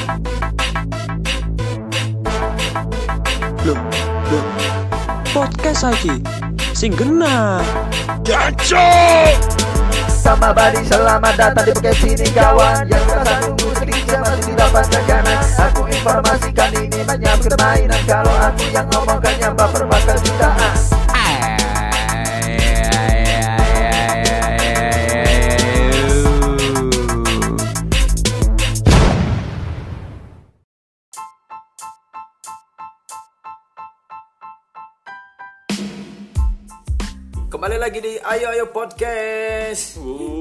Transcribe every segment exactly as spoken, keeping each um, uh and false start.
Loh, loh. Podcast lagi. Sing genah. Jancok. Sama Badi, selamat datang di podcast ini kawan. Yang merasa nunggu sedikit masih tidak tekanan. Aku informasikan ini banyak permainan. Kalau aku yang ngomongkannya baper bakal jutaan. Kembali lagi di Ayo Ayo Podcast.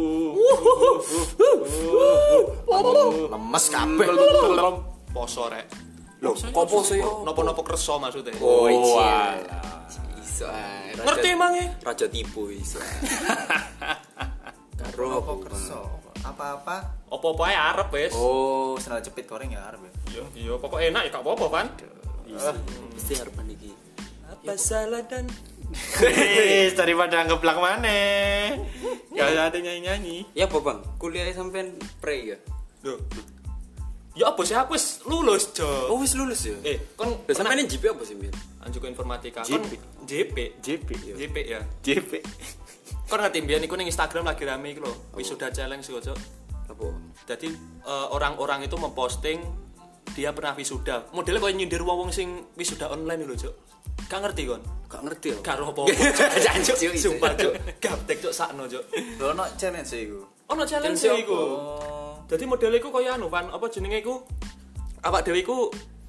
Lemes kabeh. Poso rek. Loh, kok poso yo? Nopo-nopo kerso maksudnya. Oh, iya. Iso ae. Ngerti emang ya? Raja tipu iso. Karo apa kerso? Apa-apa? Apa-apa ae arep wis. Oh, sendal jepit goreng ya arep ya. Iya, iya pokok enak ya gak apa-apa kan. Mesti harapan iki. Apa salah dan Wis daripada ngeblak maneh. Gak ada nyanyi-nyanyi. Ya apa bang? Kuliah sampean pre ya? Loh. Ya apa sih aku wis lulus, Jo. Oh wis lulus ya? Eh, kon Lah sampean J P apa sih, Mir? anjuk informatika. J Kon P. J P. J P yo. J P ya. J P. Kon ngerti mbiyen iku ning Instagram lagi rame iku lho. Wisuda challenge iku, Jo. Apa? Jadi eh, orang-orang itu memposting dia pernah wisuda. Modelnya koyo nyindir wong-wong sing wisuda online lho, Jo. Gak ngerti kon? Gak ngerti ya? Gak roh apa-apa. Jancuk sih. Sumpah, Cuk. Gaptek Cuk sakno, Cuk. Lho ono challenge iku. Ono challenge Challenge iku. Oh. Dadi modele iku koyo anu, Van, apa jenenge iku? Awak dhewe iku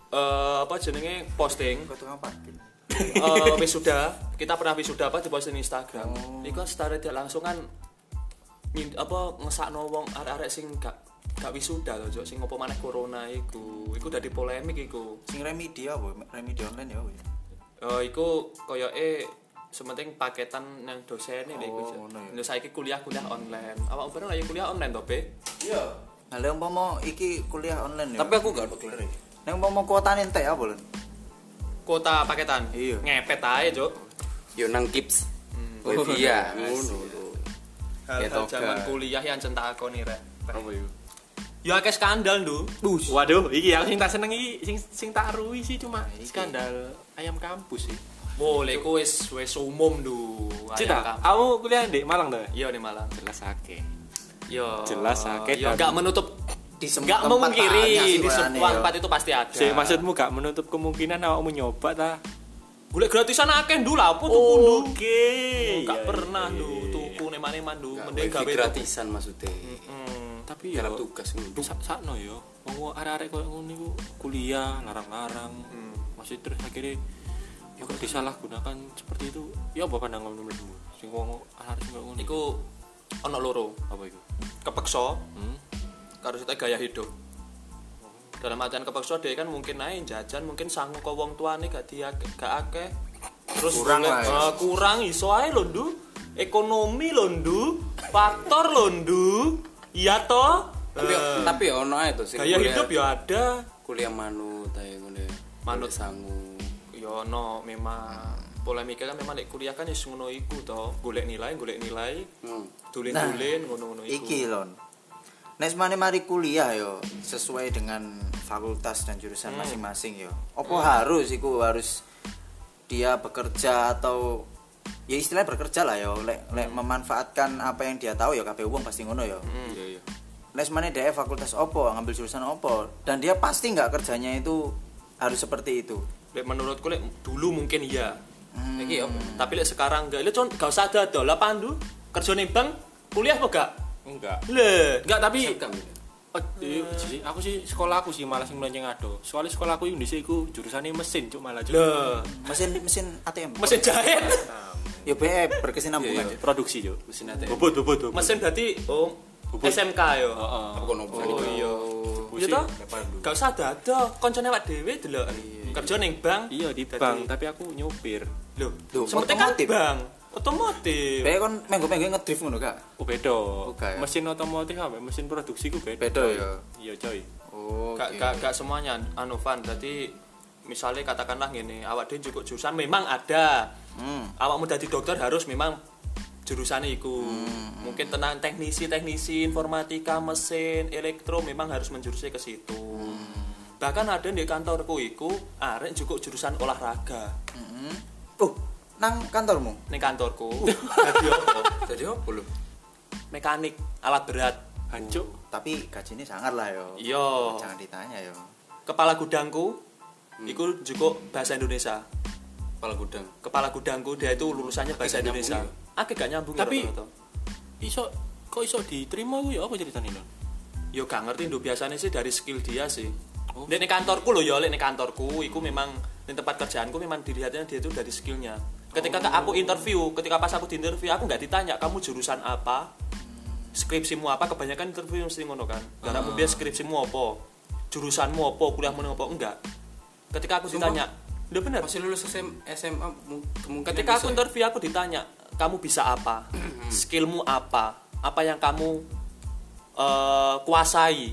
eh apa jenenge posting Kok tukang parkir. eh wisuda, kita pernah wisuda apa di posting Instagram. Iku kan secara tidak langsung kan min- apa ngesakno wong arek-arek sing gak gak wisuda lho, Cuk, sing opo maneh corona iku. Iku dadi polemik iku. Sing remedi apa? Remedi online ya. Eh iku koyoke sementing paketan yang dosen ini iku. Oh, Cuk. ngono ya. Lho saiki kuliah-kuliah online. Awak bareng lagi kuliah online to, Be? Iya. Nah, lek umpama iki kuliah online ya. Tapi aku gak kelar. nek umpama kuotane entek apa, Lon? Kuota paketan. Iya. Ngepet ae, Cuk. Yo nang Kips. Hmm. Wifi ya. Ngono lho. Hal-hal Ketokan. zaman kuliah yang centak akoni rek. Apa iku? Ya akeh skandal, Ndu. Waduh, iki aku sing tak seneng iki sing sing tak ruwi sih cuma skandal ayam kampus sih. Boleh ku wis wis umum, Ndu. Cita, kamu kuliah di Malang tuh? Iya nih Malang. Jelas akeh. Yo. Jelas akeh, Ya Bang. enggak menutup Di semua enggak tempat memungkiri banyak sih di kulane, semua yo. tempat itu pasti ada. Sih, maksudmu gak menutup kemungkinan awakmu nyoba ta? Golek gratisan akeh, Ndu. Lah apa tuku, Ndu? Oke. Enggak iya, pernah, iya, Ndu. iya. Tuku neman-neman, Ndu. Gak Mending wifi gawe gratisan maksudnya. Hmm. Tapi Garap ya tugas ngono. sak sakno yo. Wong arek-arek koyo ngono iku kuliah larang-larang. Masih terus akhirnya ya kok disalahgunakan seperti itu. Ya apa pandanganmu menurutmu? Sing wong arek koyo ngono Iku ono loro. apa iku? Kepeksa Hmm? karo kita gaya hidup. Dalam artian kepeksa dia kan mungkin naik jajan, mungkin sanggup ke wong tuane gak dia gak akeh. Terus Kurang boleh- lah ya. eh, kurang iso ae lho, Ndu. Ekonomi lho, Ndu. Faktor lho, Ndu. Iya toh? Tapi tapi ya ono ae to sing Gaya kuliah- hidup ya ada. kuliah manut ae ngono ya. Manut. Manut sangu. Ya ono memang polemiknya kan memang lek kuliah kan wis ngono iku to. Golek nilai, golek nilai, Hmm. dulin-dulin ngono-ngono iku. Iki Lon. Nek semane mari kuliah yo sesuai dengan fakultas dan jurusan masing-masing yo. Apa harus iku harus dia bekerja atau ya istilahnya bekerja lah yo lek lek memanfaatkan apa yang dia tahu ya kabeh wong pasti ngono yo. Iya iya. Nek semane dia fakultas opo ngambil jurusan opo dan dia pasti nggak kerjanya itu harus seperti itu. Lek menurutku lek dulu mungkin iya. Hmm. Iki apa? Tapi lek sekarang enggak. Lek con gak usah dodol lah Pandu. Kerja ning bank, kuliah apa gak? Enggak. Le, enggak tapi Sekam. Oh, iya, sih, aku sih sekolah aku sih malah sing melenceng ado. Soalnya sekolah aku Indonesia iku jurusannya mesin cuk malah cuk. le Mesin mesin A T M. mesin jahit. Ya B E berkesinambungan. Iya, produksi cuk. Mesin A T M. Bobot bobot bobot. Mesin berarti oh Bubut. S M K yo. Heeh. Apa kono Oh iya. Iya Pusing, toh? kayak pandu. Gak usah dado, koncone awak dhewe delok. Kerja ning bank. Iya di Dadi- bank, tapi aku nyopir. Lho, Loh, sementing kan otomotif. bank. Otomotif. B E kon menggo-menggo ngedrift ngono gak? Oh beda. Oke, ya. Mesin otomotif apa? Mesin produksi ku beda. Beda, ya? Iya coy. Oh. Gak, gak, gak semuanya anu Van. Jadi misalnya katakanlah gini, awak dhewe cukup jurusan memang ada. Hmm. Awakmu dadi dokter harus memang jurusannya iku. Mungkin tentang teknisi-teknisi informatika, mesin, elektro memang harus menjurusnya ke situ. Bahkan ada di kantorku iku arek juga jurusan olahraga. Oh, nang kantormu? Ning kantorku. Dadi apa? Jadi apa lho? Mekanik alat berat. Hancur. Tapi gajinya sangat lah yo. Iya. Jangan ditanya yo. Kepala gudangku iku juga bahasa Indonesia. Kepala gudang. Kepala gudangku dia itu lulusannya bahasa gak Indonesia. nyambung Agak gak nyambung Tapi rata-rata. Iso kok iso diterima ku ya apa ceritane lho? Yo gak ngerti nduk biasanya sih dari skill dia sih. Oh. Nek ning kantorku lho ya, nek ning kantorku iku memang ning tempat kerjaanku memang dilihatnya dia itu dari skillnya. Ketika oh. aku interview, ketika pas aku di interview aku nggak ditanya kamu jurusan apa, skripsimu apa, kebanyakan interview mesti ngono kan. Karena uh. dia skripsimu apa, jurusanmu apa, kuliahmu apa, enggak. Ketika aku Sumpah? ditanya, udah bener. Masih lulus S M, S M A kemungkinan Ketika aku bisa. interview aku ditanya, kamu bisa apa, skillmu apa, apa yang kamu uh, kuasai.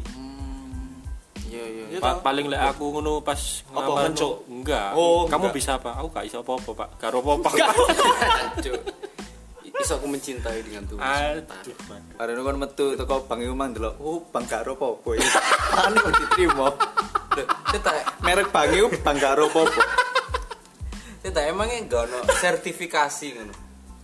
Iya iya. Gitu. Pa- paling lek aku ngono pas Apa, ngelamar ngono? cuk enggak. Oh, kamu enggak. bisa apa? Aku gak iso apa-apa, Pak. Gak apa-apa. Cuk. Iso aku mencintai dengan tulus. Aduh. Karena kan metu teko bang iku mang delok, oh bang karo apa-apa iki. Kan kok diterima. Kita Merek bang iku bang karo apa-apa. kita emangnya enggak ono sertifikasi ngono.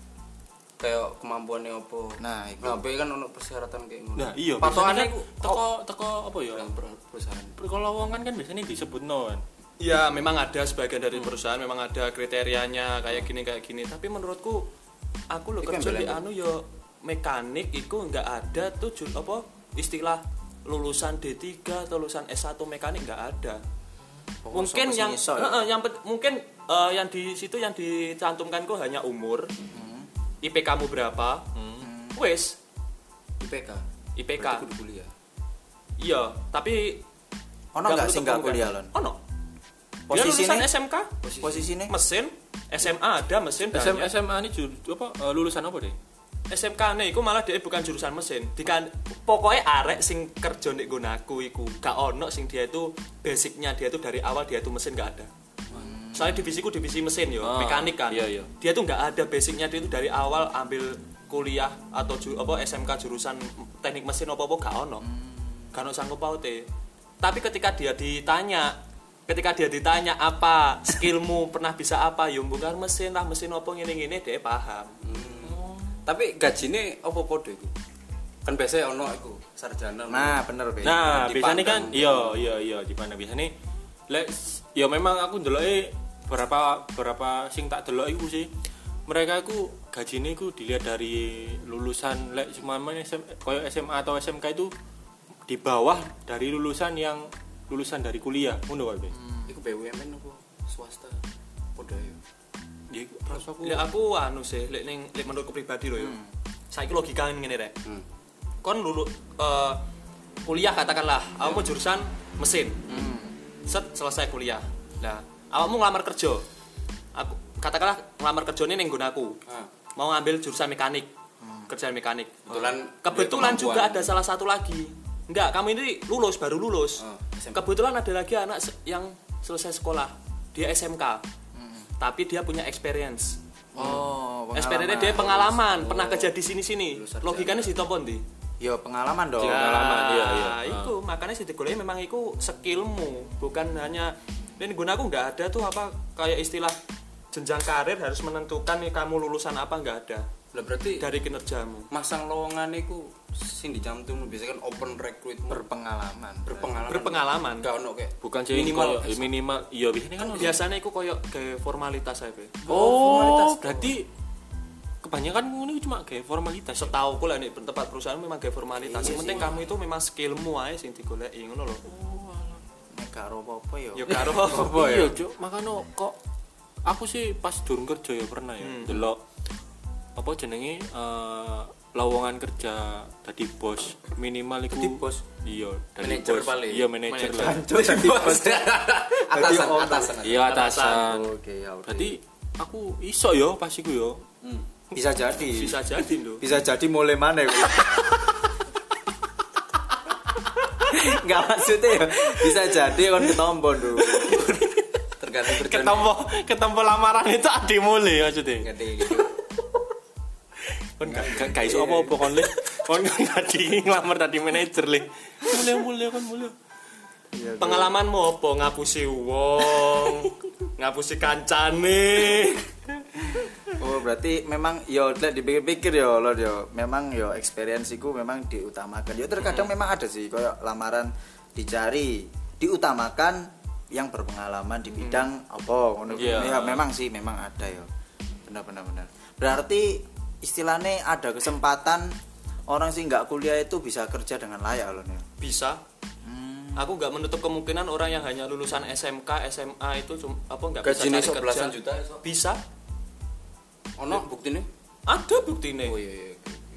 Kayak kemampuannya apa. Nah, iku. Nah, be kan ono persyaratan kayak ngono. Nah, iya. Patokannya biasanya iku kan teko teko apa ya? perusahaan. Kalau lowongan kan biasanya disebutno kan. Ya memang ada sebagian dari perusahaan memang ada kriterianya kayak gini kayak gini. Tapi menurutku aku lo Iku kerja yang di belen. anu yo mekanik iku nggak ada tuh jur, apa istilah lulusan D tiga atau lulusan S satu mekanik nggak ada. Oh, Mungkin sampai yang sini iso ya? heeh, yang pet- mungkin eh, yang di situ yang dicantumkan kok hanya umur, I P K-mu berapa, wes I P K. I P K. Berarti kudu kuliah. Iya, tapi Ono enggak sih enggak kuliah lon? Ono. Dia Posisinya lulusan S M K, posisinya mesin, S M A ada mesin S M banyak. S M A ini jur, apa eh, lulusan apa deh? S M K nih, iku malah dia bukan jurusan mesin. Dikan, pokoknya arek sing kerja nek nggonaku iku gak ono sing dia itu basicnya dia itu dari awal dia itu mesin gak ada. Soalnya divisiku divisi mesin yo, Ah, mekanik kan. iya, iya. Dia tuh nggak ada basicnya dia itu dari awal ambil kuliah atau ju, apa S M K jurusan teknik mesin apa apa gak ono. Gak ono sanggup paute. Tapi ketika dia ditanya, ketika dia ditanya apa skillmu pernah bisa apa, yo bongkar mesin lah mesin apa ngene-ngene dia paham. Tapi gajine apa podo iku? Kan biasanya ono iku sarjana. Nah, bener be. Nah, Dipandang. biasanya kan iya iya iya di mana biasanya lek ya memang aku ndeloke berapa berapa sing tak delok iku sih. Mereka iku gajine iku dilihat dari lulusan lek cuma S M koyo S M A atau S M K itu di bawah dari lulusan yang lulusan dari kuliah. Ngono wae. Iku B U M N apa swasta? Podo ya. Di terus aku Lek aku anu sih, lek ning lek menurutku pribadi lho yo. Saiki logika ngene rek. Hmm. Kon lulu eh, kuliah katakanlah, awakmu jurusan mesin. Set selesai kuliah. Nah, awakmu ngelamar kerja. Aku katakanlah ngelamar kerjane ning nggonku. Ah. Mau ngambil jurusan mekanik. Kerjaan mekanik. Kebetulan Kebetulan dia juga kemampuan. ada salah satu lagi. Enggak, kamu ini lulus baru lulus. Oh, S M K. Kebetulan ada lagi anak se- yang selesai sekolah. Dia S M K. Tapi dia punya experience. Oh, Experience dia pengalaman, pernah kerja di sini-sini. Lulus sarjana. Logikanya si topo ndi? Yo pengalaman dong. Iya. Pengalaman, iya, iya. Iku makanya si digoleki memang iku skillmu, bukan hanya dan guna aku nggak ada tuh apa kayak istilah jenjang karir harus menentukan nih kamu lulusan apa nggak ada Lah berarti dari kinerjamu. masang lowongan iku sing dicantum biasanya kan open recruitment Berpengalaman. berpengalaman. Berpengalaman. Enggak ono kayak bukan sih minimal koyo- minimal iya biasanya kan Biasanya iku koyo ke formalitas ae. oh formalitas. berarti kebanyakan ini cuma kayak formalitas ya? Setahu ku lah nih tempat perusahaan memang kayak formalitas. Iya Yang penting sih. kamu itu memang skillmu ae sing digoleki ngono lho. Nek karo apa-apa yo. Ya karo Apa iya ya? cuk makanya kok aku sih pas durung kerja ya pernah ya Hmm. delok apa jenenge eh, lowongan kerja tadi bos minimal iku Dadi bos? iya dari Manajer bos paling. iya manajer lah Jancuk tadi bos. atasan owner. atasan. iya atasan Oke, ya udah. berarti aku iso yo pas iku yo Hmm. bisa jadi. bisa jadi lho. Bisa jadi mulai mana ya? Enggak maksudnya ya. Bisa jadi kon ketombo dulu. Tergantung kerjaan. ketemu ketemu lamaran itu adi mulai maksudnya Gede gitu. Kon gak gak gak iso apa-apa kon le. Kon tadi nglamar tadi manajer le. Mulya-mulya kon mulya. Pengalamanmu apa ngapusi wong, ngapusi kancane. Oh berarti memang yo lek dipikir-pikir yo lo yo memang yo experience iku memang diutamakan. Yo terkadang memang ada sih koyo lamaran dicari diutamakan yang berpengalaman di bidang apa ngono. Yeah. Ya memang sih memang ada yo. Benar benar benar. Berarti istilahnya ada kesempatan orang sih nggak kuliah itu bisa kerja dengan layak loh nih. Bisa. Aku nggak menutup kemungkinan orang yang hanya lulusan S M K, S M A itu cum, apa nggak bisa Gajinya cari sok kerja. belasan juta iso. Bisa. Ono buktine? Ada buktine. Oh iya iya.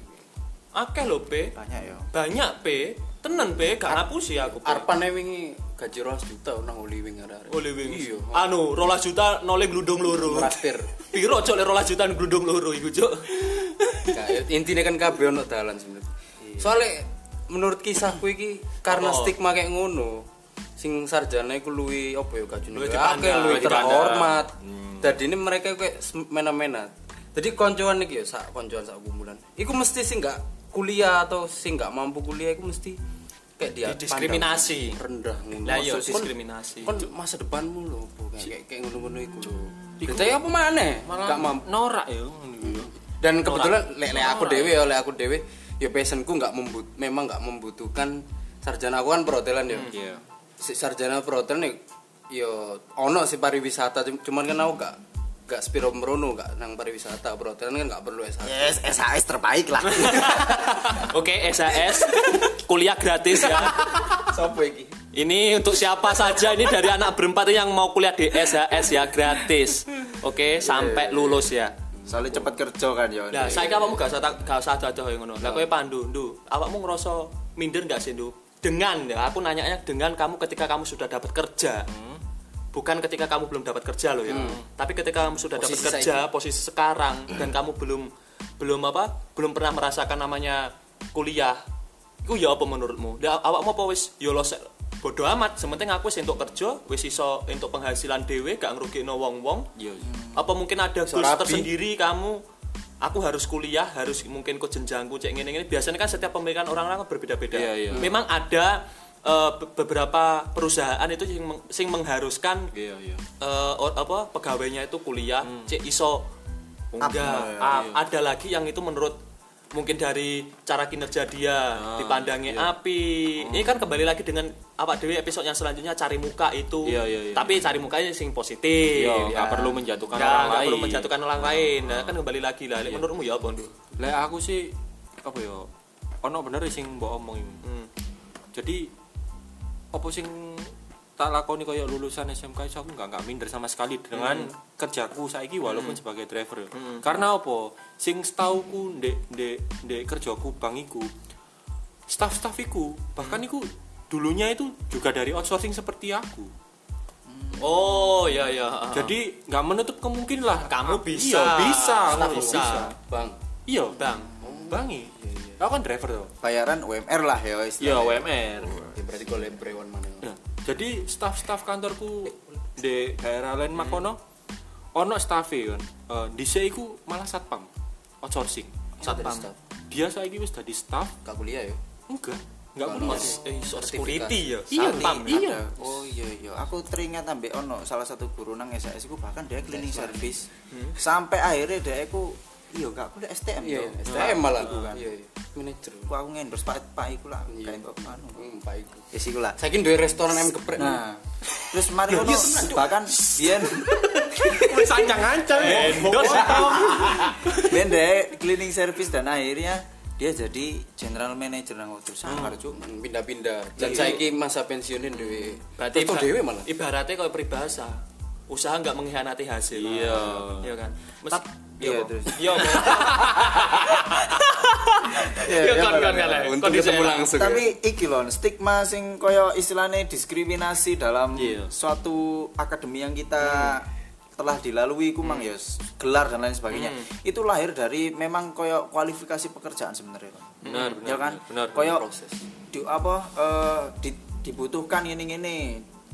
Akeh lho, P. Banyak yo. Banyak, P. Tenan, P. Gak ngapusi aku, P. Arpane wingi gaji dua belas juta nang oli wing arek. Oleh wing. Iya. Anu, rolas juta noleh glundung loro. Traktir. Piro cok le rolas juta glundung loro iku, Cuk? Kayak intine kan kabeh ono dalan sebenarnya. Soale menurut kisahku iki karena Oh. stigma kayak ngono. Sing sarjana iku luwi apa ya gajine? Luwih Akeh dipandang, luwih luwih dipandang. terhormat. Dadi ini mereka kayak mena-mena. Jadi koncoan iki ya sak koncoan sak kumpulan. Iku mesti sing gak kuliah atau sing gak mampu kuliah iku mesti kayak dia Didiskriminasi. pandang rendah ngono. Lah iya Maksud, kon- diskriminasi. Kon masa depanmu lho opo kayak kayak ngono-ngono iku lho. Dite apa maneh? Gak mampu. Norak ya ngono yo. Dan kebetulan lek lek aku dhewe ya lek aku dhewe ya passionku nggak membut memang nggak membutuhkan sarjana. Aku kan perhotelan ya. Iya. Si sarjana perhotelan ya ya ono si pariwisata cuman kan aku gak gak spiro merono gak nang pariwisata perhotelan kan gak perlu S satu. Yes, S H S terbaik lah. Oke, S H S kuliah gratis ya. Sopo iki? Ini untuk siapa saja ini dari anak berempat yang mau kuliah di S H S ya gratis. Oke, sampai lulus ya. Soalnya cepet kerja kan yo. Nah, saiki awakmu gak usah tak- gak usah dadah koyo ngono. Lah kowe Pandu, Ndu, awakmu ngerasa minder gak sih, Ndu? Dengan ya, aku nanyanya dengan kamu ketika kamu sudah dapat kerja. Bukan ketika kamu belum dapat kerja loh ya. Tapi ketika kamu sudah dapat Posisi kerja, posisi sekarang dan kamu belum belum apa? Belum pernah merasakan namanya kuliah. Iku ya apa menurutmu? Lah awakmu apa wis ya lo sek bodo amat, sementing aku wis entuk kerja, wis iso entuk penghasilan dhewe, gak ngrugikno wong-wong. Iya. Apa mungkin ada goals rapi. tersendiri kamu, aku harus kuliah, harus mungkin ke jenjangku cek ngene-ngene. Biasanya kan setiap pemikiran orang-orang kan berbeda-beda. Iya, iya. Memang ada eh, be- beberapa perusahaan itu sing, meng- sing mengharuskan Iya, iya. eh, or- apa pegawainya itu kuliah, cek iso enggak. ya, Ah, ada lagi yang itu menurut mungkin dari cara kinerja dia dipandangi api. Ini kan kembali lagi dengan apa dewe episode yang selanjutnya cari muka itu. Iya, iya, iya. Tapi cari mukanya sing positif. Iya, ya. nggak perlu menjatuhkan Nggak, orang nggak lain. perlu menjatuhkan orang lain. Nah, kan kembali lagi lah. Lek menurutmu ya apa, Ndu? Lek aku sih apa ya? Ono bener sing mbok omong iki. Hmm. Jadi apa sing tak lakoni koyo lulusan S M K iso aku enggak enggak minder sama sekali dengan kerjaku saiki walaupun sebagai driver. Karena apa? Sing setauku ndek ndek ndek kerjaku bang iku staff-staff iku bahkan iku dulunya itu juga dari outsourcing seperti aku. Oh, iya iya. Jadi nggak menutup kemungkinan lah Kamu bisa. Iya, bisa. Staff Aku bisa. Bang. Iya, Bang. bangi. Aku kan driver tuh. Bayaran U M R lah ya Iya, istilahnya. W M R. Ya berarti kok lebrewan mana? Nah, jadi staff-staff kantorku di daerah lain makono ono staff kan. Eh dhisik iku malah satpam outsourcing. Satpam. Dia saiki wis dadi staff. Gak kuliah ya? Enggak, enggak Kalau- perlu. Eh, so Sertifikat. security ya. Iya, Satpam. Ada. iya. Oh iya iya. Aku teringat ambek ono salah satu guru nang S H S iku bahkan dia cleaning service. Sampai akhirnya dia iku iya gak kuliah S T M Iya, tuh. S T M malah. Bukan. Iya, iya. Manajer. Aku aku ngendorse Pak Pak iku lah. Iya. Kayak kok anu. Hmm, Pak iku. Wis iku lah. Saiki duwe restoran ayam geprek. Nah, terus mari ono bahkan biyen Wis ancang-ancang. Endorse. biyen dia cleaning service dan akhirnya dia jadi general manager nang hotel Sangkar cuk. Hmm, pindah-pindah. Dan saiki masa pensiunin dhewe. Berarti Resto iba- dhewe malah. Ibaratnya kalau peribahasa, usaha nggak mengkhianati hasil. Iya. Iya kan. Mes- Tap, iya terus. Iya. Iya kan kan kan. Untuk ketemu langsung. ya. Tapi iki lho stigma sing koyo istilahnya diskriminasi dalam Iya. suatu akademi yang kita telah dilalui ku mang ya gelar dan lain sebagainya. Itu lahir dari memang koyo kualifikasi pekerjaan sebenarnya. Benar, benar. Ya kan? Benar. Koyo proses. di apa eh, di- dibutuhkan ini ini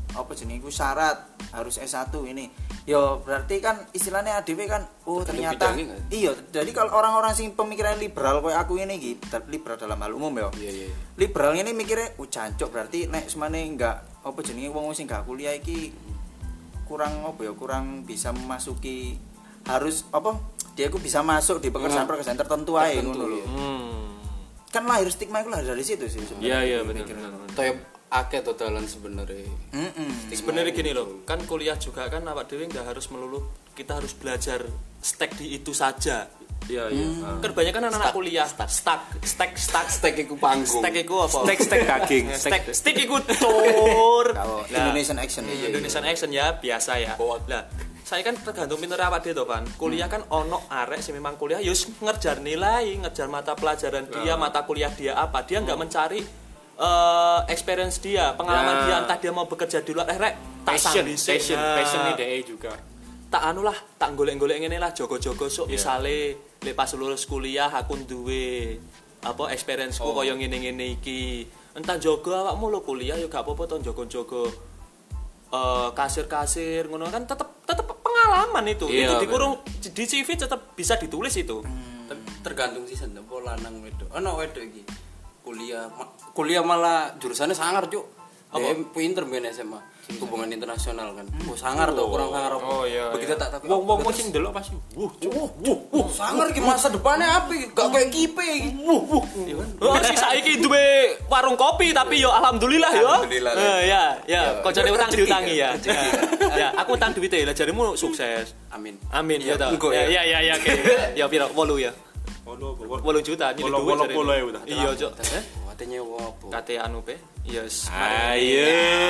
apa jenenge iku syarat harus S satu ini. Yo berarti kan istilahnya A D W kan oh ternyata bidangnya nggak? iya. Jadi kalau orang-orang sing pemikiran liberal kayak aku ini iki, liberal dalam hal umum ya. Iya iya. Liberal ini mikirnya oh jancuk berarti nek semane enggak apa jenenge wong sing enggak kuliah iki kurang apa ya kurang bisa memasuki harus apa dia ku bisa masuk di pekerjaan-pekerjaan tertentu ae ngono lho. Hmm. Kan lahir stigma itu lahir dari situ sih sebenarnya. Iya iya benar benar. Toyo akeh totalan sebenarnya. Heeh. Sebenarnya gini loh, kan kuliah juga kan awak dhewe nggak harus melulu kita harus belajar stek di itu saja. Iya iya. Kan banyak kan anak-anak kuliah stek stek stek Stek iku panggung. stek iku apa? Stek stek daging. Stek stek iku tur. Kalau Nah, Indonesian action Iya, Indonesian action ya biasa ya. Lah, saya kan tergantung pinter awak dhewe to, Pan. Kuliah kan ono arek sing memang kuliah ya wis ngejar nilai, ngejar mata pelajaran dia, mata kuliah dia apa. Dia nggak mencari eh experience dia, pengalaman Ya. dia entah dia mau bekerja di luar eh rek tak Passion, sambi sik. passion, Nah, passion nih deh juga. tak anu lah, tak golek-golek ngene lah, jogo-jogo sok Yeah. misale lek pas lulus kuliah aku duwe apa experience-ku Oh. koyo ngene-ngene iki. Entah jogo awakmu lo kuliah ya gak apa-apa to jogo-jogo eh kasir-kasir ngono kan tetep tetep pengalaman itu. Iya, itu dikurung di C V tetep bisa ditulis itu. Tapi tergantung sih sen apa lanang wedok. Ono wedok iki. Kuliah ma- kuliah malah jurusannya sangar, Cuk. Dia pinter main S M A. Hubungan internasional kan. Oh, sangar tuh, kurang sangar apa. Oh, iya, Begitu iya. tak takut. Wong wong sing delok pasti. Wuh, Cuk. Wuh, wuh, wuh, sangar ki masa depannya apa? Gak kayak kipe iki. Wuh, wuh. Oh, si saiki duwe warung kopi tapi yo alhamdulillah yo. Alhamdulillah. Eh, ya, ya, koncone utang rezeki, diutangi ya. rezeki. Ya, aku utang duit e, lah jarimu sukses. Amin. Amin ya Iya, toh. engko Ya ya. ya ya oke. Ya piro wolu ya. wolu juta nyili Wolu- duit. wolu jare. puluh ya udah. Iya, Cuk. Katanya apa? Kate anu pe. Yes. Ayo.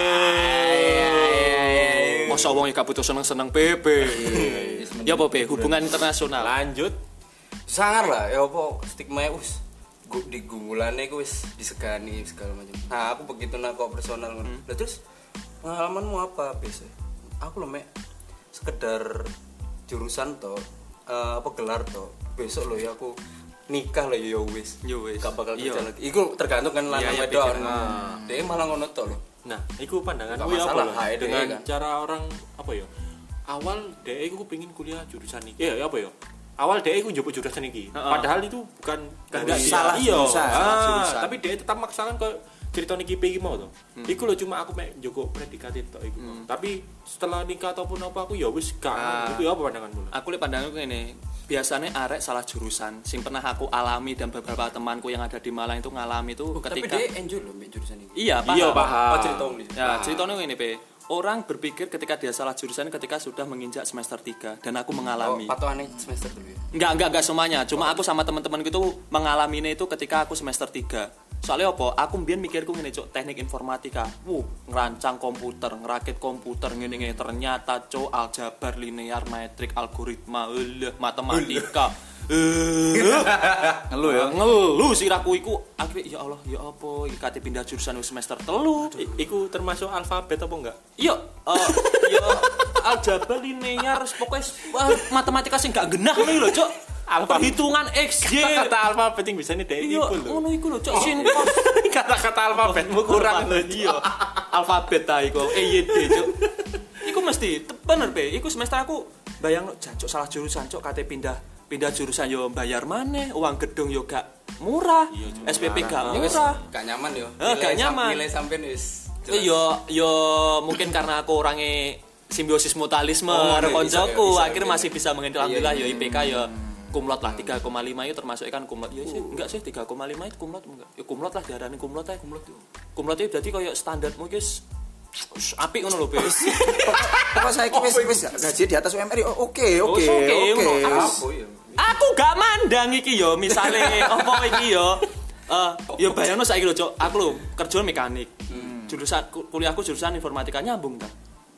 Masa wong gak butuh seneng-seneng P P. Ya apa P? Hubungan internasional. Lanjut. Sangar lah, ya apa stigma wis gu- di gumulane iku wis disegani segala macam. Nah, aku begitu nak kok personal ngono. Lah terus pengalamanmu apa biasa? Aku lho mek sekedar jurusan to, eh, apa gelar to. Besok lho ya aku nikah lah ya wis. Ya wis. Gak bakal Iya. kerja lagi. Iku tergantung kan lanang Iya, iya, wedok. pikiran. Nah, dia malah ngono to lho. Nah, iku pandangan Nggak gue apa masalah, loh? H E D Dengan kan. cara orang apa ya? Awal dhek iku pengen kuliah jurusan iki. Ya, apa ya? Awal dhek iku njupuk jurusan iki. Padahal itu bukan Nggak dari- salah iya. jurusan, salah Ah, jurusan. tapi dhek tetap maksakan kok cerita niki P iki mau to. Iku lho cuma aku mek njogo predikat itu iku. mau. Tapi setelah nikah ataupun apa aku ya wis gak. Ah. Itu ya apa pandanganmu? Aku lihat pandanganku ini biasanya arek salah jurusan sing pernah aku alami dan beberapa temanku yang ada di Malang itu ngalami itu Tapi ketika dia enjoy lho mek jurusan ini. iya paham, Iya, paham. Oh, cerita nih. ya ceritanya ini P orang berpikir ketika dia salah jurusan ketika sudah menginjak semester tiga dan aku Oh, mengalami patokannya semester dulu ya. enggak enggak enggak semuanya cuma aku sama teman-teman gitu mengalaminya itu ketika aku semester tiga soalnya apa aku mbien mikirku ngene cuk teknik informatika wuh ngerancang komputer ngerakit komputer ngene ngene ternyata cuk aljabar linear metrik algoritma eueuh matematika eh Ngeluh ya. ngeluh siraku iku akhirnya ya Allah ya apa iki kate pindah jurusan wis semester telu I- iku termasuk alfabet apa enggak? iya eh ya aljabar linear pokoknya wah, matematika sing gak genah nih lho cuk perhitungan X Y Kata alfabet yang bisa nih dhek iya iku lho. ngono iku lho cuk sin Kata-kata alfabetmu kurang lho. iya alfabet ta iku E Y D cuk iku mesti te- bener be iku semester aku bayang jancuk salah jurusan cuk kate pindah pindah jurusan yo bayar maneh uang gedung yo gak murah S P P gak Ya wis murah gak nyaman yo. Eh, gak Nilai sam- nyaman. Nilai sampean wis. jelas. Eh, yo yo mungkin karena aku orangnya simbiosis mutualisme Oh, karo iya, bisa, koncoku bisa, akhirnya bisa. masih bisa mengenal Iya, alhamdulillah iya. yo I P K yo kumlot lah tiga koma lima itu termasuk kan kumlot ya sih enggak sih tiga koma lima itu kumlot enggak ya kumlot lah diarani kumlot ae kumlot kumlot itu berarti koyo standarmu guys apik ngono lho Be Pokok saya wis wis gaji di atas U M R. Oh, Oke, oke, Oh, oke, oke. ngono. Apa ya? aku gak mandang iki yo misale apa iki yo eh yo bayangno saiki lho Cok aku lho kerja mekanik jurusan ku- kuliahku jurusan informatika nyambung ta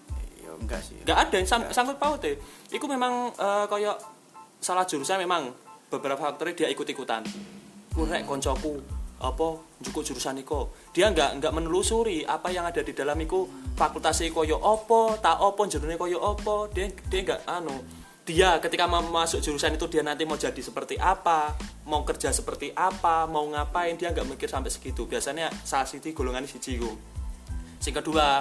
Ya enggak sih. gak ada yang sang- sangkut paut e iku memang eh, kayak salah jurusan memang beberapa faktornya dia ikut-ikutan kurek koncoku apa njukuk jurusan iku dia nggak nggak menelusuri apa yang ada di dalam iku fakultas iku koyo apa tak apa jerone koyo apa dia dia nggak anu dia ketika mau masuk jurusan itu dia nanti mau jadi seperti apa mau kerja seperti apa mau ngapain dia nggak mikir sampai segitu biasanya salah siji golongan siji iku sing kedua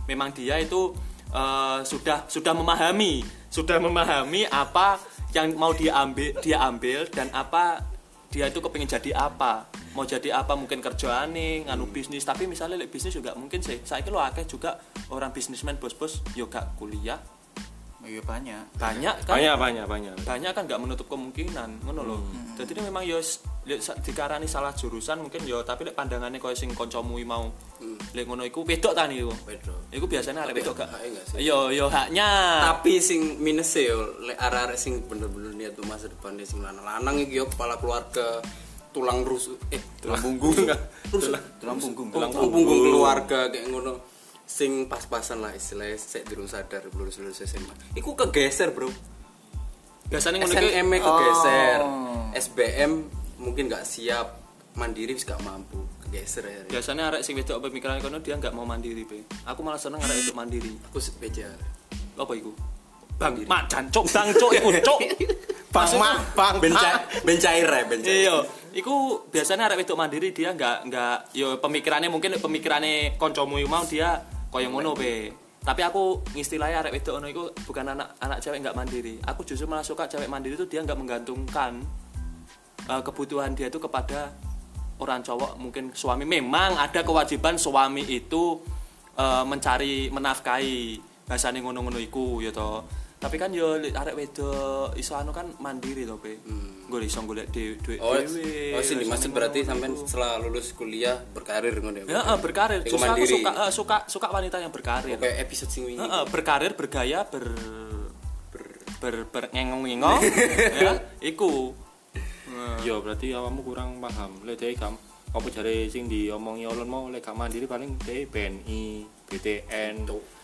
memang dia itu uh, sudah sudah memahami, sudah memahami apa yang mau dia ambil, dia ambil dan apa dia itu kepingin jadi apa. Mau jadi apa mungkin kerjaane nganu bisnis, tapi misalnya like, bisnis juga mungkin sih saya kira akeh juga orang bisnismen bos-bos yo gak kuliah. Iya banyak. Banyak kan? Banyak banyak banyak. Banyak kan gak menutup kemungkinan ngono lho. Hmm. Jadi memang yo dikarani salah jurusan mungkin yo tapi lek pandangane koyo sing kancamu mau hmm. lek ngono iku wedok ta niku. Wedok. Iku biasanya arek wedok gak? Haknya gak sih? Yo yo haknya. Tapi sing minus yo lek arek-arek sing bener-bener niat tuh masa depan sing lanang-lanang iki yo kepala keluarga tulang rusuk eh tulang punggung rusuk tulang punggung tulang punggung keluarga kayak ngono sing pas-pasan lah istilahnya sik durung sadar lulus-lulus S M A iku kegeser bro Biasanya ngono S iki N M kegeser Oh. S B M mungkin gak siap mandiri wis gak mampu kegeser ya biasanya arek sing wedok pemikiran kono dia enggak mau mandiri, Be. Aku malah seneng arek wedok mandiri. aku beja Apa iku? Bang, mak jancuk, bang cuk iku cuk. bang mak bang benca bencair ya bencair Iya, iku biasanya arek wedok mandiri dia enggak enggak yo pemikirannya mungkin pemikirannya kancamu mau dia koyo ngono Be. Tapi aku ngistilahnya arek wedok ngono iku bukan anak anak cewek enggak mandiri. Aku justru malah suka cewek mandiri itu dia enggak menggantungkan uh, kebutuhan dia itu kepada orang cowok, mungkin suami. Memang ada kewajiban suami itu uh, mencari menafkahi bahasane ngono-ngono iku ya toh. Tapi kan yo arek wedok iso anu kan mandiri to, Be. Hmm. Nggo iso golek dhuwit oh, dhewe. oh sini maksud berarti sampai setelah lulus kuliah berkarir ngono ya. Heeh, berkarir. Iku Justru aku mandiri. suka uh, suka suka wanita yang berkarir. Kayak episode sing wingi Heeh, berkarir, bergaya, ber ber ber, ber ngengong-ngengong ya, iku. Yo berarti awakmu kurang paham. Lek dhek kam apa jare sing diomongi ulun mau lek gak mandiri paling dhek B N I, B T N,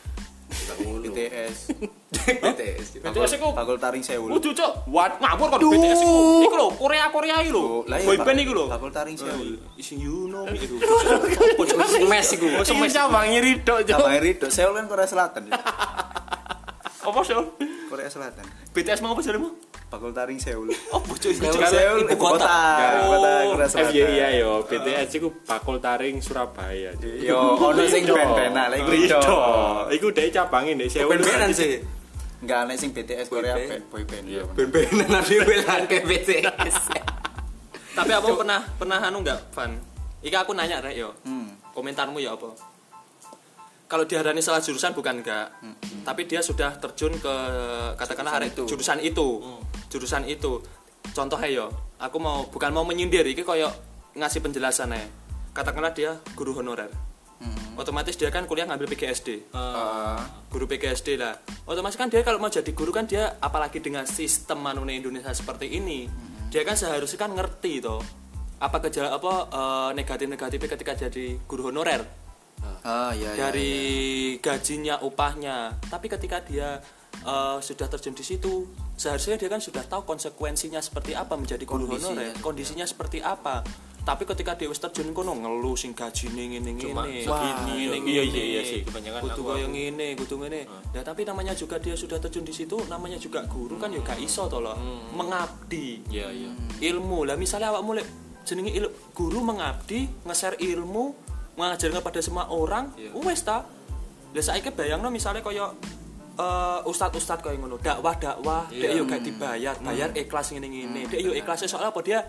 B T S B T S B T S iku bakul taring sewu kudu cuk. Wat ngawur kok B T S iku. Iku lho, Korea-Korea iki lho. Boyband iku lho. bakul taring sewu Ising you know me itu. mes iku Semes cabangi ridho Abang Ridho Seoul kan Korea Selatan ya? Apa sih? Korea Selatan B T S mau apa jaremu? bakul taring Seoul Oh, bocah iku. Seoul ibu kota ibu kota Korea F Selatan Y I yo B T S iku bakul taring Surabaya. yo ono sing ben-benan lek Ridho. Ridho Iku dhek cabangi ndek Seoul. ben-benan sih enggak aneh sing B T S Korea Boyband. boyband Iya. ben-benan ada belan ke B T S Tapi apa pernah pernah anu enggak, Van? Iki aku nanya rek yo. Hmm. Komentarmu ya apa? Kalau diharani salah jurusan bukan enggak. Hmm. Tapi dia sudah terjun ke katakanlah arek itu. jurusan itu. Hmm. Jurusan itu. Contohnya yo, aku mau bukan mau menyindir iki koyo ngasih penjelasan ae. Katakanlah dia guru honorer. Hmm. Otomatis dia kan kuliah ngambil P G S D. Uh, Guru P G S D lah. Otomatis kan dia kalau mau jadi guru kan dia apalagi dengan sistem manune Indonesia seperti ini, hmm. dia kan seharusnya kan ngerti toh apa gejala apa uh, negatif-negatifnya ketika jadi guru honorer. ah iya iya Dari gajinya, upahnya. Tapi ketika dia uh, sudah terjun di situ, seharusnya dia kan sudah tahu konsekuensinya seperti apa menjadi guru Kondisinya, honorer, kondisinya seperti apa. Tapi ketika dia wis terjun kono ngeluh sing gajine ngene-ngene, segini, ngene iya, iya, iya sih, kebanyakan kudu aku- koyo ngene, kudu ngene. Ya tapi namanya juga dia sudah terjun di situ, namanya juga guru kan ya gak iso to lho. Mengabdi Iya iya. ilmu. Lah misalnya awakmu lek jenenge il- guru mengabdi, nge-share ilmu, mengajarkan kepada semua orang, wis ta. Lah saiki bayangno misalnya kaya uh, ustad-ustad kaya ngono, dakwah-dakwah, dek yo gak dibayar, bayar ikhlas ngene-ngene. Dek yo ikhlasnya soalnya apa dia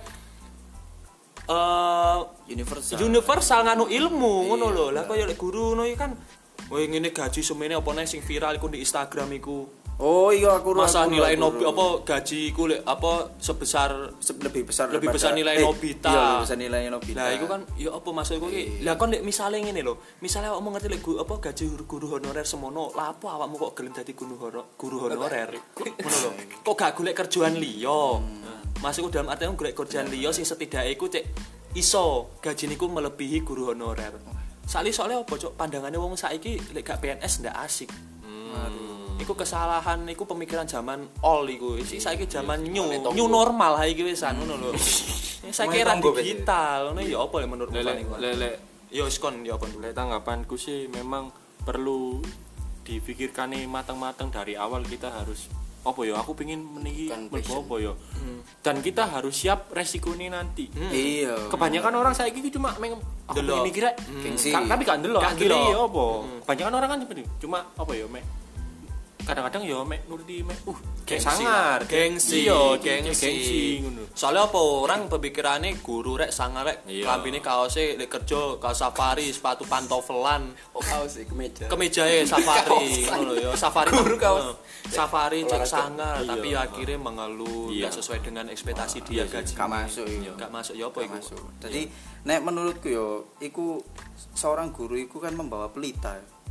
uh, universal universal nganu ilmu ngono lho. Lah kaya lek guru ngono iki kan kowe ngene gaji semene apa neh sing viral iku di Instagram iku. oh iya aku Masa aku- nilai aku- Nobi apa gaji iku lek apa sebesar Se- lebih besar lebih daripada- besar nilai eh, Nobita. iya lebih besar nilai Nobita Lah iku kan ya apa maksudku iki? Lah kon lek misale ngene lho, misale awakmu ngerti lek guru apa gaji guru honorer semono, lah apa awakmu kok gelem dadi guru honorer? Guru honorer. Ngono lho. Kok gak golek kerjaan liya? Maksudku dalam artian golek kerjaan liya sing setidaknya iku cek iso gaji niku melebihi guru honorer. Sali soalnya apa cok pandangane wong saiki lek gak P N S ndak asik. Iku kesalahan, iku pemikiran zaman old iku. Iki saiki zaman new, new normal ha iki wisan ngono lho. Saiki era digital, ngono ya apa ya menurutmu Lele paling? lele Ya wis kon ya apa dulu. lele tanggapanku sih memang perlu dipikirkan nih matang-matang dari awal kita harus apa ya aku pengen meniki Bukan mlebu passion. apa ya dan kita harus siap resiko ini nanti Iya. kebanyakan orang saiki iki cuma meng aku Delok. pengen mikir rek Gengsi. Ka- tapi gak ndelok Gak akhirnya ndelok. ya apa kebanyakan orang kan seperti itu. Cuma apa ya mek kadang-kadang ya mek nuruti mek uh kayak Gengsi. sangar Gengsi. iya Gengsi. gengsi ngono Soalnya apa orang pemikirannya guru rek sangar rek Iya. klambine kaose lek kerja kaos safari sepatu pantofelan Oh kaos iki kemeja. kemejae safari ngono lho ya safari Guru kaos. eh, safari cek Olahraga. sangar Iya. tapi akhirnya mengeluh Iya. nggak sesuai dengan ekspektasi dia gaji Gak masuk iya. nggak masuk ya apa Gak iku masuk. Jadi nek menurutku yo iku seorang guru iku kan membawa pelita.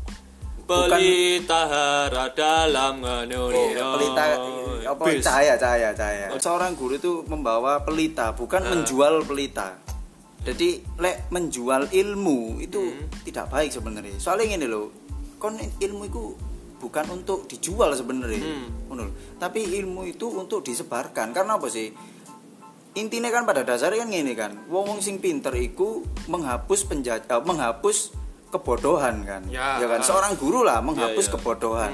pelita hara dalam nganu Oh, pelita apa Bis. cahaya cahaya cahaya. Seorang guru itu membawa pelita, bukan menjual pelita. Jadi lek menjual ilmu itu tidak baik sebenarnya. Soalnya gini loh, kon ilmu itu bukan untuk dijual sebenarnya, ngono lho. Tapi ilmu itu untuk disebarkan. Karena apa sih? Intinya kan pada dasarnya kan gini kan, wong-wong sing pinter iku menghapus penjaj eh, menghapus kebodohan kan. Ya. kan seorang guru lah menghapus Ya, ya. kebodohan.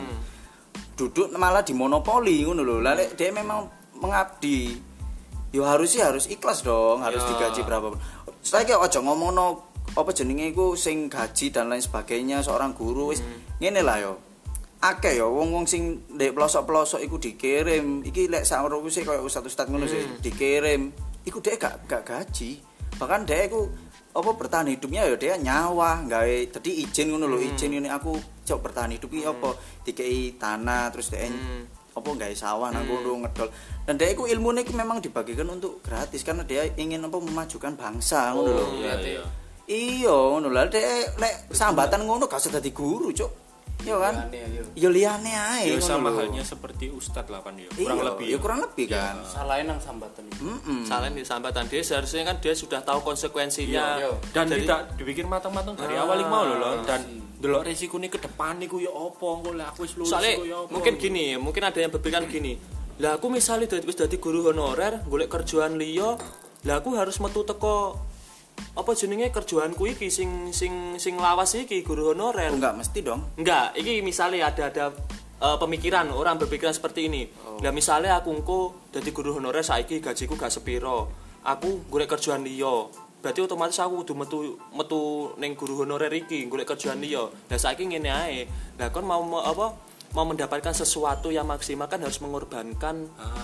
Duduk malah dimonopoli ngono lho. Lah lek dia memang mengabdi, yo harusnya harus ikhlas dong, harus Ya. digaji berapa. Saiki aja ngomongno apa jenenge iku sing gaji dan lain sebagainya seorang guru wis ngene lah yo. Akeh yo wong-wong sing ndek pelosok-pelosok iku dikirim. Iki lek sakmono sih koyo ustaz-ustaz ngono sih dikirim. Iku dhek gak gak gaji. Bahkan dhek iku apa bertahan hidupnya ya dia nyawa gawe tadi izin ngono lho izin ini aku cok bertahan hidup iki apa dikei tanah terus dia apa gawe sawah nang kono ngedol dan dia iku ilmune iku memang dibagikan untuk gratis karena dia ingin apa memajukan bangsa ngono lho iya iya iya ngono lho dek lek sambatan ngono gak usah dadi guru cok iya kan Liyane, ya iya. liyane ae ya ngono sama lho. halnya seperti ustadz lah kan ya Iya, kurang lebih ya kurang lebih kan Salahin nang sambatan iki. Mm-mm. salah di sambatan dia seharusnya kan dia sudah tahu konsekuensinya Iya, iya. dan Jadi- tidak dibikin matang-matang dari awal iki mau lho lho dan delok resikonya ke depan niku ya apa engko lek aku wis lulus soalnya iku ya apa mungkin gini mungkin ada yang berpikiran gini lah aku misalnya dadi wis dadi guru honorer golek kerjaan liya lah aku harus metu teko apa jenenge kerjaanku iki sing sing sing lawas iki guru honorer enggak mesti dong enggak iki misalnya ada ada eh, pemikiran orang berpikiran seperti ini lah misalnya aku engko dadi guru honorer saiki gajiku gak sepiro aku golek kerjaan liya berarti otomatis aku kudu metu metu ning guru honorer iki golek kerjaan liya lah saiki ngene ae lah kon mau me- apa mau mendapatkan sesuatu yang maksimal kan harus mengorbankan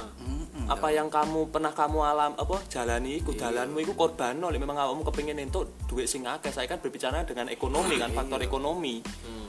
apa yang kamu pernah kamu alam apa jalani iku dalanmu iku korbanno lek memang awakmu kepengin entuk duit sing akeh saya kan berbicara dengan ekonomi kan faktor ekonomi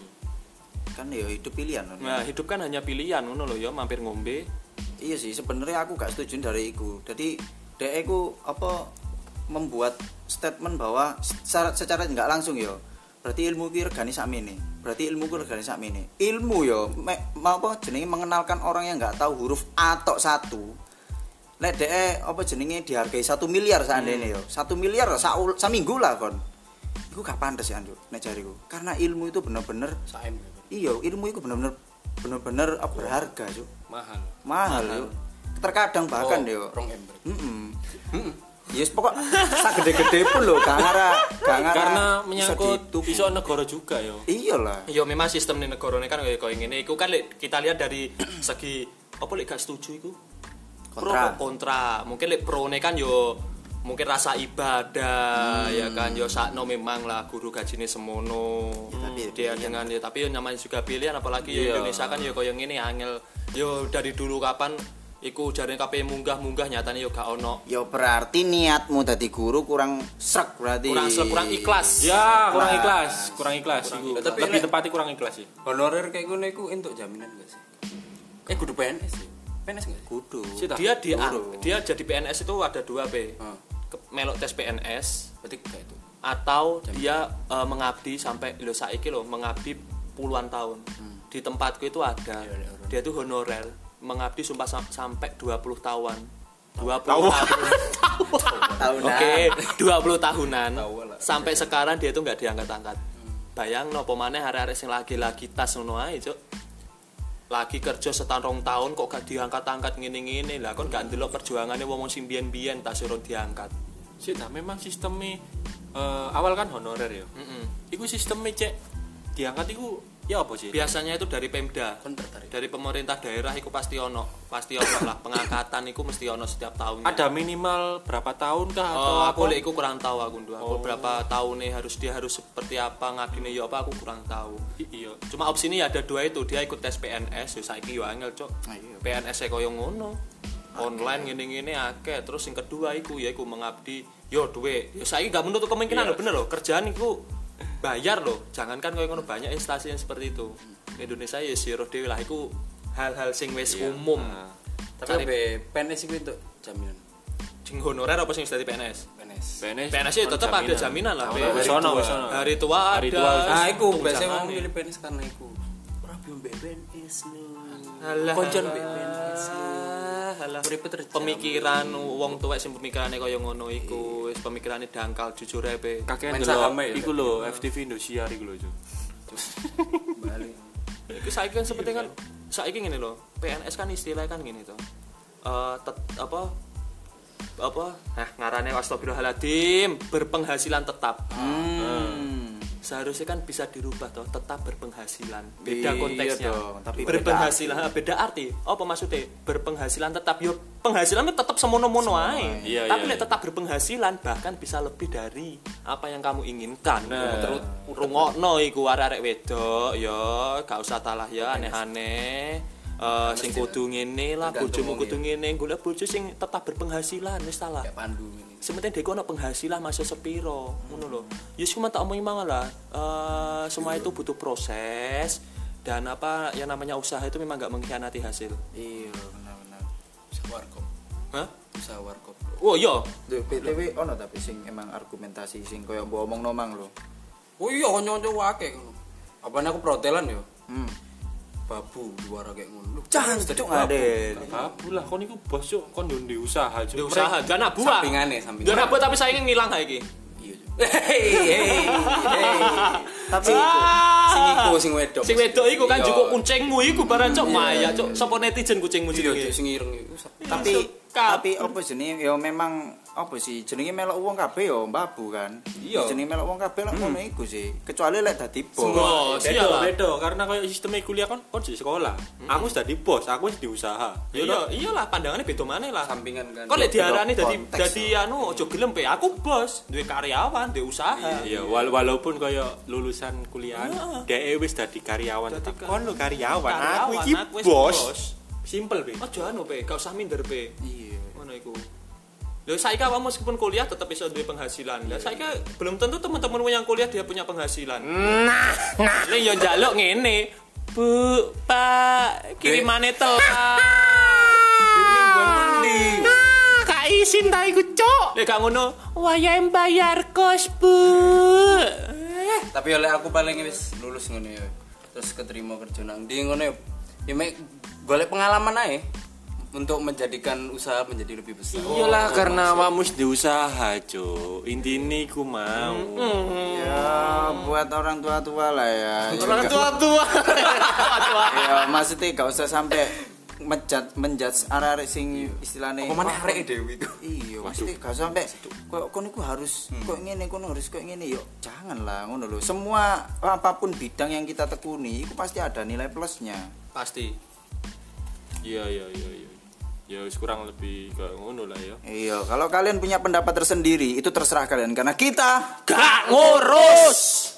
kan ya hidup pilihan kan. nah hidup kan hanya pilihan ngono lho ya mampir ngombe Iya sih sebenarnya aku gak setuju dari iku. Jadi dek iku apa membuat statement bahwa secara secara nggak langsung yo. Berarti ilmu ki regane sakmene. Berarti ilmu ku regane sakmene. Ilmu yo me, mau apa jenenge mengenalkan orang yang nggak tahu huruf A tok satu. Lek dek apa jenenge dihargai satu miliar seandainya yo. satu miliar sa saminggu lah kon. Iku gak pantes ya Anduk nek jariku. Karena ilmu itu bener-bener Saem. iya, ilmu itu bener-bener bener-bener apa, berharga, Cuk. mahal Mahal, Cuk. Terkadang bahkan oh, yo. rong ember. Heeh. Yes, pokok sak gede-gede pun lho, gak ngara, gak ngara. karena bisa menyangkut dituku. iso negara juga ya Iyalah. ya memang sistem di negara ini kan kayak kayak ngene iku kan lek kita lihat dari segi apa lek gak setuju iku pro Kontra. kok kontra mungkin lek pro ne kan yo mungkin rasa ibadah ya kan yo sakno memang lah guru gajine semono tapi dia dengan ya tapi yo namanya juga pilihan apalagi yo Indonesia kan yo koyo ngene angel yo dari dulu kapan iku jarene kabeh munggah-munggah nyatane yo gak ono Ya berarti niatmu dadi guru kurang srek berarti. kurang kurang ikhlas ya kurang ikhlas kurang ikhlas iku Tapi lebih lek- tepatnya kurang ikhlas sih Honorer kayak ngono iku entuk jaminan gak sih? Eh kudu P N S sih. P N S enggak sih? kudu. Sih, dia di Guru. dia jadi P N S itu ada dua B Heeh. Ke- melok tes P N S Berarti kayak itu. atau dia eh, mengabdi sampai lo saiki lo mengabdi puluhan tahun di tempatku itu ada dia tuh honorer mengabdi sumpah sam- sampai dua puluh tahun dua puluh tahun Tahunan. oke dua puluh tahunan Tahu lah. sampai sekarang dia tuh nggak diangkat-angkat bayang no pemane hari-hari sing lagi-lagi tas ngono ae cuk lagi kerja setahun rong tahun kok gak diangkat-angkat ngene-ngene lah kon gak ndelok perjuangannya wong sing biyen-biyen tas urung diangkat sih nah memang sistemnya eh, awal kan honorer ya heeh iku sistemnya cek diangkat iku Ya apa sih? Biasanya itu dari Pemda. Kon tertarik. Dari pemerintah daerah iku pasti ono. Pasti ono lah pengangkatan iku mesti ono setiap tahunnya. Ada minimal berapa tahun kah atau Oh, aku apa? lek iku kurang tahu aku ndu. Aku berapa tahun nih harus dia harus seperti apa ngabine yo apa aku kurang tahu. I- Iya. Cuma opsi ini ada dua itu, dia ikut tes P N S, yo saiki yo angel, Cok. Nah, iya. P N S e koyo ngono. Online ngene-ngene akeh. Terus yang kedua iku ya iku mengabdi yo duwe. Yo saiki gak menutup kemungkinan Iya. lho, bener lho. Kerjaan iku bayar loh. Jangankan koyo ngono banyak instansi yang seperti itu. Indonesia ya siro dhewe lah iku hal-hal sing wis umum. Nah. Tapi Cari- be P N S itu untuk jaminan. Sing honorer apa sing wis dadi P N S? P N S. P N S. P N S itu tetap ada jaminan lah. Be. Wis ono, wis ono. Hari tua Hari ada. tua. Nah, iku biasanya tunjangan ngomong nih. milih P N S karena iku. Ora belum P N S nih. Alah. Konjon P N S. Alah. Urip terjam. Pemikiran wong tuwek sing pemikirane kaya ngono iku, wis pemikirane dangkal jujur ae be. Kakek Main ndelok saham ya, iku lho F T V Indosiar iku lho, Cuk. Balik. Iku saiki kan seperti kan saiki ngene lho, P N S kan istilahnya kan ngene to. Eh tet, apa apa eh ngarane astagfirullahaladzim berpenghasilan tetap. Hmm. Seharusnya kan bisa dirubah toh, tetap berpenghasilan. Beda Iya konteksnya. dong, tapi berpenghasilan beda, beda arti. Apa maksudnya? Berpenghasilan tetap yo penghasilannya tetap semono-mono ae. Iya, Tapi iya, lek iya. tetap berpenghasilan bahkan bisa lebih dari apa yang kamu inginkan. Nah. Terus rungokno iku arek-arek wedok ya gak usah talah ya aneh-aneh. Eh sing kudu ngene lah, Tergantung bojomu wong kudu ngene, golek bojo sing tetap berpenghasilan wis ta lah. Kayak pandu ini. Sementing dek ono penghasilan masuk sepiro ngono lho. Ya cuma tak omongi mang lah. Eh semua itu butuh proses dan apa yang namanya usaha itu memang gak mengkhianati hasil. Iya, benar-benar. Usaha warkop. Hah? Usaha warkop. Oh iya. Duh, B T W ono tapi sing emang argumentasi sing koyo mbok omongno mang lho. Oh iya kanca-kanca wake ngono. Apane aku protelan yo. Hmm. Babu luar kayak ngono. Lu Jangan jadi cuk babu. ngaden. Babu lah kon iku bos, Cuk. Kon yo ndek usaha, Cuk. Di usaha dan anak buah. Sampingane, sampingane. Dan anak buah tapi saya ingin ngilang ha iki. Iya. Cuk. Hei, hei, hei. Tapi Ah. sing iku sing wedok. Sing wedok iku kan Iya. jukuk kucingmu iku barang cok maya cok. Sapa netizen kucingmu Iya, Cuk, jenenge? sing ireng iku. Tapi Kap. tapi apa jenenge ya memang apa sih jenenge melok wong kabeh ya mbabu kan. Iya. Jenenge melok wong kabeh lek ngono iku sih. Kecuali lek dadi bos. Bos, Beda, iyalah. beda karena kayak sistem kuliah kon kon di sekolah. Aku wis dadi bos, aku wis di usaha. Ya iya, iyalah pandangannya beda maneh lah. Sampingan kan. Kok lek diarani Beda dadi konteks, dadi anu aja gelem pe. Aku bos, duwe karyawan, duwe usaha. Iya, wala- walaupun kaya lulusan kuliah, dhek wis dadi karyawan Dadi tetap. kar- Kon lo karyawan, Karyawan, aku iki aku wis bos. bos. Simple, Be. Aja anu pe, gak usah minder pe. Iya. Ngono iku. Lho saiki awakmu meskipun kuliah tetap bisa duwe penghasilan. Lah saiki belum tentu teman-temanmu yang kuliah dia punya penghasilan. Nah, nah. Lek yo njaluk ngene. Bu, Pak, kirimane telat. Kak isin ta iku, Cuk. Lek gak ngono, wayahe bayar kos, Bu. Tapi oleh aku paling wis lulus ngono ya. Terus keterima kerja nang ndi ngono ya. Ya mek golek pengalaman ae untuk menjadikan usaha menjadi lebih besar. Iyalah karena awakmu wis di usaha, Cuk. Intine iku mau. Ya buat orang tua-tua lah ya. Orang tua-tua. Tua-tua. Ya maksudnya gak usah sampai menjat menjudge arek-arek sing istilahnya Apa mana arek dewi iku? iya maksudnya gak sampai kok kon iku harus kok ngene kon harus kok ngene yo jangan lah ngono lho semua apapun bidang yang kita tekuni itu pasti ada nilai plusnya Pasti. Iya, iya, iya, iya. Ya wis kurang lebih kayak ngono lah ya. iya kalau kalian punya pendapat tersendiri itu terserah kalian karena kita Gak ngurus.